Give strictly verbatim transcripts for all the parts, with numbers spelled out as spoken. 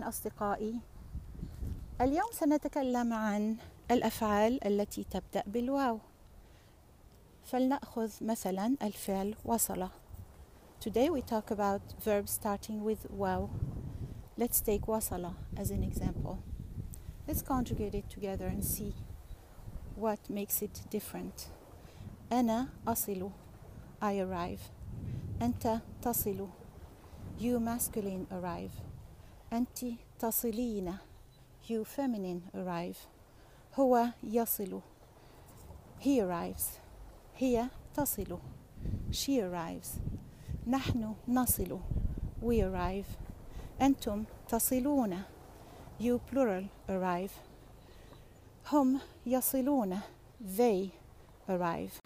أصدقائي، اليوم سنتكلم عن الأفعال التي تبدأ بالواو. فلنأخذ مثلا الفعل وصل. Today we talk about verbs starting with واو. Let's take وصل as an example. Let's conjugate it together and see what makes it different. أنا أصل, I arrive. أنت تصل, you masculine arrive. أنت تصلين, you feminine arrive. هو يصل, he arrives. هي تصل, she arrives. نحن نصل, we arrive. أنتم تصلون, you plural arrive. هم يصلون, they arrive.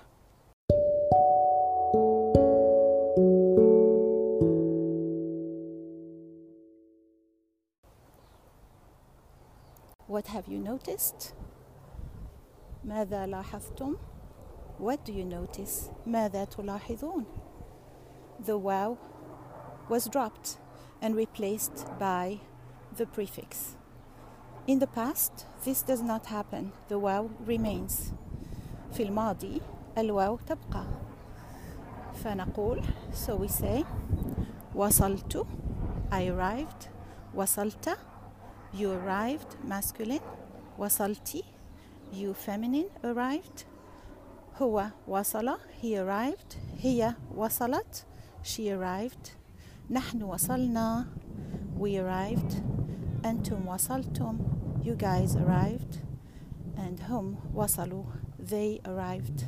What have you noticed? ماذا لاحظتم? What do you notice? ماذا تلاحظون? The wow was dropped and replaced by the prefix. In the past, this does not happen. The wow remains. في الماضي, الواو تبقى. فنقول, so we say, وصلت, I arrived. وصلت, you arrived, masculine. وصلتي, you feminine, arrived. هو وصل, he arrived. هي وصلت, she arrived. نحن وصلنا, we arrived. أنتم وصلتم, you guys arrived. And هم وصلوا, they arrived.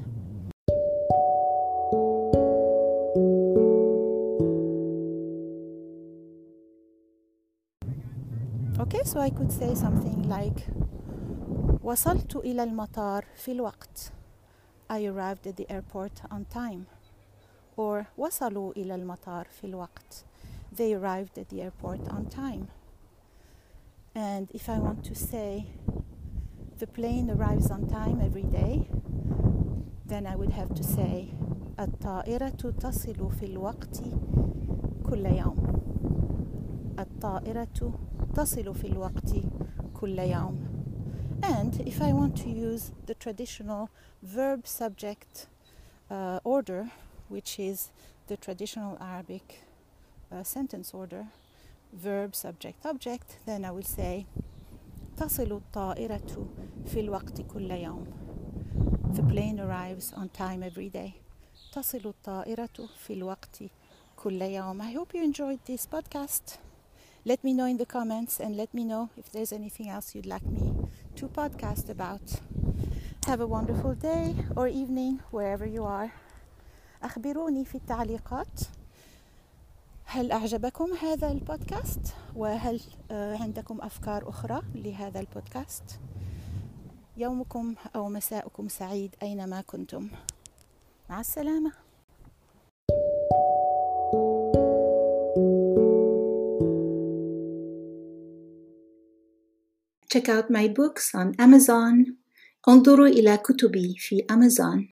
Okay, so I could say something like وصلت إلى المطار في الوقت. I arrived at the airport on time. Or وصلوا إلى المطار في الوقت. They arrived at the airport on time. And if I want to say the plane arrives on time every day, then I would have to say الطائرة تصل في الوقت كل يوم. الطائرة تصل في الوقت كل يوم. And if I want to use the traditional verb subject uh, order, which is the traditional Arabic uh, sentence order, verb subject object, then I will say تصل الطائرة في الوقت كل يوم. The plane arrives on time every day. تصل الطائرة في الوقت كل يوم. I hope you enjoyed this podcast. Let me know in the comments and let me know if there's anything else you'd like me to podcast about. Have a wonderful day or evening wherever you are. أخبروني في التعليقات هل أعجبكم هذا البودكاست وهل عندكم أفكار أخرى لهذا البودكاست. يومكم أو مساءكم سعيد أينما كنتم. مع السلامة. Check out my books on Amazon. انظروا إلى كتبي في Amazon.